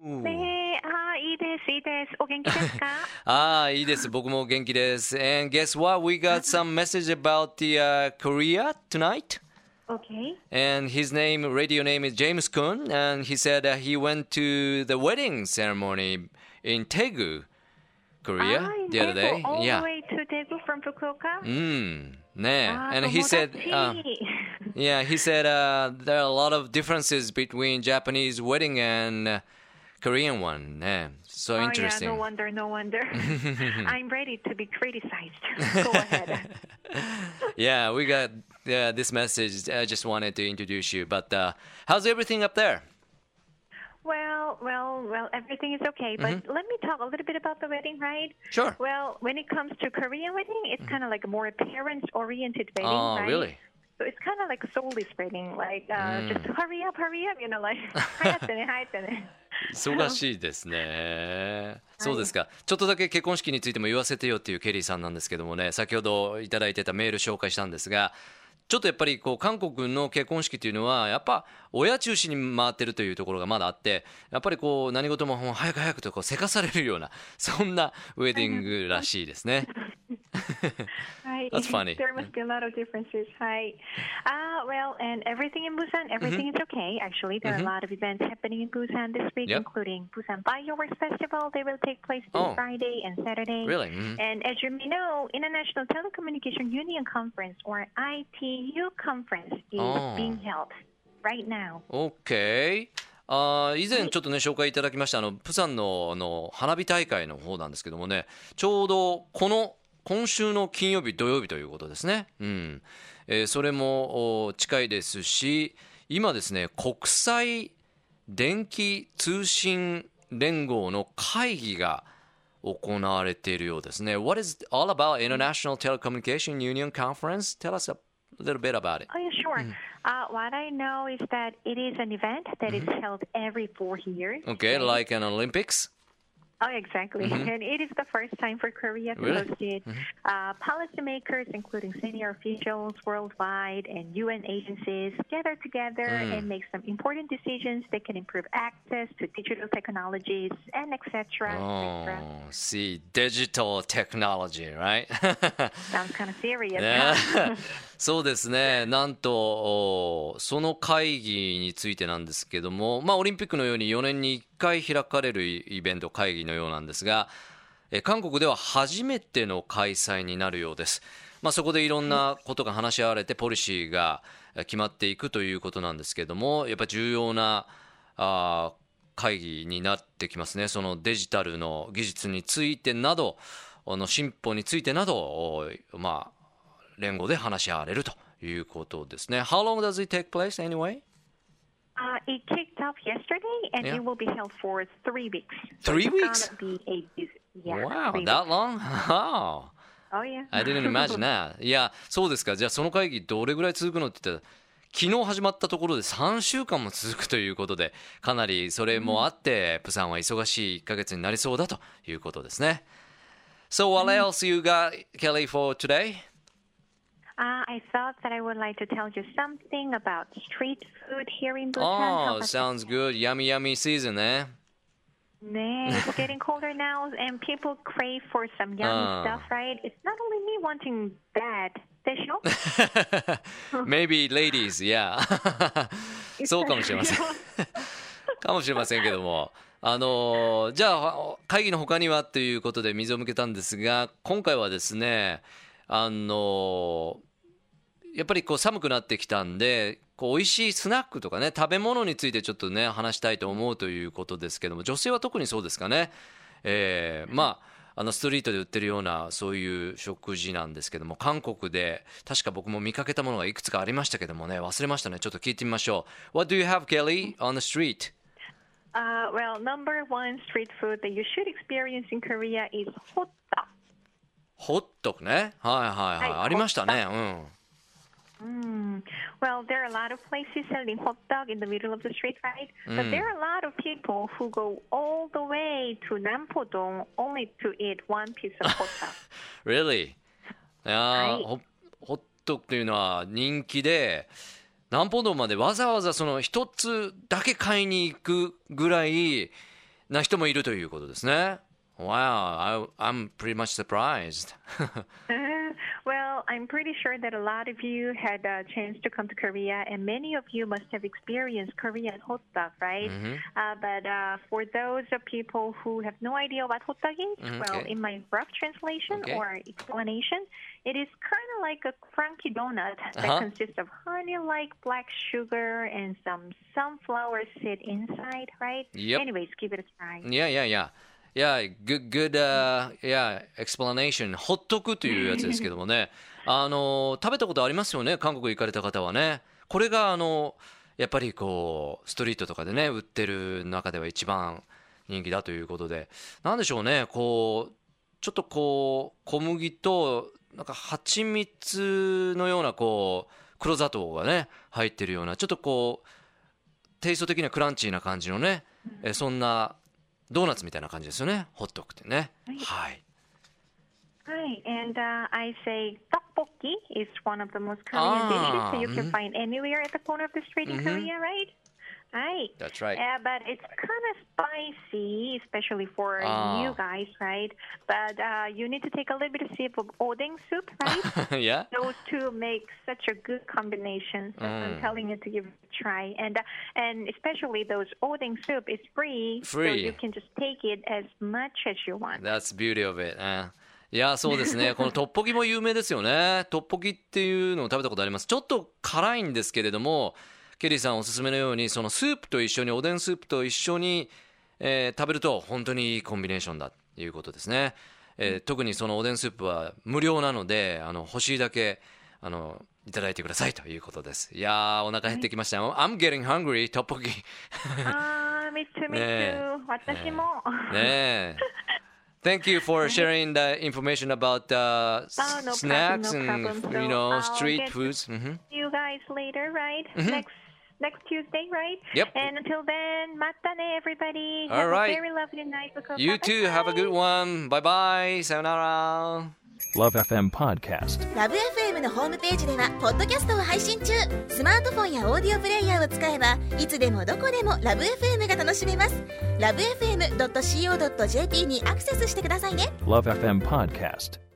ねえ、いいです、いいです。お元気ですか？ いいです。僕も元気です。And guess what? We got some message about the Korea tonight. Okay. And his radio name is James Kun. And he said he went to the wedding ceremony in Daegu, Korea, In the other Daegu, day. all the Yeah. way to Daegu from Fukuoka? And he said, 友達。 yeah, he said there are a lot of differences between Japanese wedding and Korean one. Yeah, so interesting. Yeah, no wonder, no wonder. I'm ready to be criticized. Go ahead. Yeah, we got this message. I just wanted to introduce you. But how's everything up there? Well, everything is okay. But let me talk a little bit about the wedding, right? Sure. Well, when it comes to Korean wedding, it's kind of like a more parents-oriented wedding, Oh, right? really? So it's kind of like a soulless wedding, like just hurry up, you know, like 早くね、早くね。 忙しいですね。そうですか。ちょっとだけ結婚式についても言わせてよっていうケリーさんなんですけどもね、先ほどいただいてたメール紹介したんですが、ちょっとやっぱりこう韓国の結婚式というのはやっぱ親中心に回ってるというところがまだあって、やっぱりこう何事も早く早くとこうせかされるようなそんなウェディングらしいですね。That's funny. There must be a lot of differences. Hi. Well, and everything in Busan, everything is okay. Actually, there are a lot of events happening in Busan this week, including Busan Fireworks Festival. They will take place this Friday and Saturday. Really? And as you may know, International Telecommunication Union Conference, or ITU Conference, is being held right now. Okay. 以前ちょっとね紹介いただきましたプサンの花火大会の方なんですけどもね、ちょうど今週の金曜日土曜日ということですね。それも近いですし、今ですね国際電気通信連合の会議が行われているようですね。What is all about International Telecommunication Union Conference? Tell us a little bit about it. Oh, yeah, sure. What I know is that it is an event that is held every 4 years. Okay, like an Olympics? Oh, exactly. And it is the first time for Korea to host it. Policymakers, including senior officials worldwide and UN agencies, gather together and make some important decisions that can improve access to digital technologies and etc. Oh, see, digital technology, right? Sounds kind of serious. そうですね。なんとその会議についてなんですけども、オリンピックのように4年に1回開かれるイベント会議のようなんですが、韓国では初めての開催になるようです。そこでいろんなことが話し合われてポリシーが決まっていくということなんですけども、やっぱ重要な会議になってきますね。そのデジタルの技術についてなど進歩についてなど連合で話し合われるということですね。How long does it take place anyway? It kicked off yesterday and it will be held for 3 weeks. 3 weeks? Wow, that long? Oh, yeah. I didn't imagine that. いや、そうですか。じゃあその会議どれぐらい続くのって言ったら、昨日始まったところで3週間も続くということで、かなりそれもあって、プサンは忙しい1ヶ月になりそうだということですね。So what else you got, Kelly, for today? I thought that I would like to tell you something about street food here in Busan. Oh, sounds good. Yummy, yummy season, eh? It's getting colder now, and people crave for some yummy stuff, right? It's not only me wanting that. でしょ? Maybe ladies, yeah. そうかもしれません。かもしれませんけども。じゃあ会議の他にはということで水を向けたんですが、今回はですね、やっぱりこう寒くなってきたんで、こう美味しいスナックとかね、食べ物についてちょっとね話したいと思うということですけども、女性は特にそうですかね。ストリートで売ってるようなそういう食事なんですけども、韓国で確か僕も見かけたものがいくつかありましたけどもね、忘れましたね。ちょっと聞いてみましょう。What do you have, Kelly, on the street? Well, number one street food that you should experience in Korea is hotdog. ホットクね。はい。ありましたね。 Well, there are a lot of places selling hot dog in the middle of the street, right? But there are a lot of people who go all the way to Nampodong only to eat one piece of hot dog. Really? ホットクというのは人気で、南方道までわざわざその一つだけ買いに行くぐらいな人もいるということですね。Wow, I'm pretty much surprised. Well, I'm pretty sure that a lot of you had a chance to come to Korea, and many of you must have experienced Korean hot dog, right? But for those of people who have no idea what hot dog is, well, in my rough translation or explanation, it is kind of like a crunchy donut that consists of honey-like black sugar and some sunflower seed inside, right? Anyways, give it a try. Yeah, good, explanation. ホットクというやつですけどもね。食べたことありますよね、韓国行かれた方はね。これがやっぱりこうストリートとかでね売ってる中では一番人気だということで、なんでしょうね、こうちょっとこう小麦となんか蜂蜜のようなこう黒砂糖がね入ってるような、ちょっとこうテイスト的にはクランチーな感じのね、そんなドーナツみたいな感じですよね、ホットクってね。はい。 Hi, and I say tteokbokki is one of the most Korean dishes that you can find anywhere at the corner of the street in Korea, right? Right. That's right. But it's kind of spicy, especially for you guys, right? But you need to take a little bit of sip of odeng soup, right? Yeah. Those two make such a good combination. So I'm telling you to give it a try. And especially those odeng soup is free, so you can just take it as much as you want. That's the beauty of it. いやそうですね、このトッポギも有名ですよね。トッポギっていうのを食べたことあります。ちょっと辛いんですけれども、ケリーさんおすすめのようにそのスープと一緒に、おでんスープと一緒に、食べると本当にいいコンビネーションだということですね。特にそのおでんスープは無料なので欲しいだけいただいてくださいということです。いやお腹減ってきました。I'm getting hungry. トッポギ。 me too. 私も。 ねえ。Thank you for sharing the information about snacks and street foods. See you guys later, right? Next Tuesday, right? Yep. And until then, またね, everybody. All right. Have a very lovely night. You too. Have a good one. Bye bye. さよなら。 Love FM Podcast。 ラブ FM のホームページではポッドキャストを配信中。スマートフォンやオーディオプレイヤーを使えばいつでもどこでもラブ FM が楽しめます。ラブ FM.co.jp にアクセスしてくださいね。 Love FM Podcast。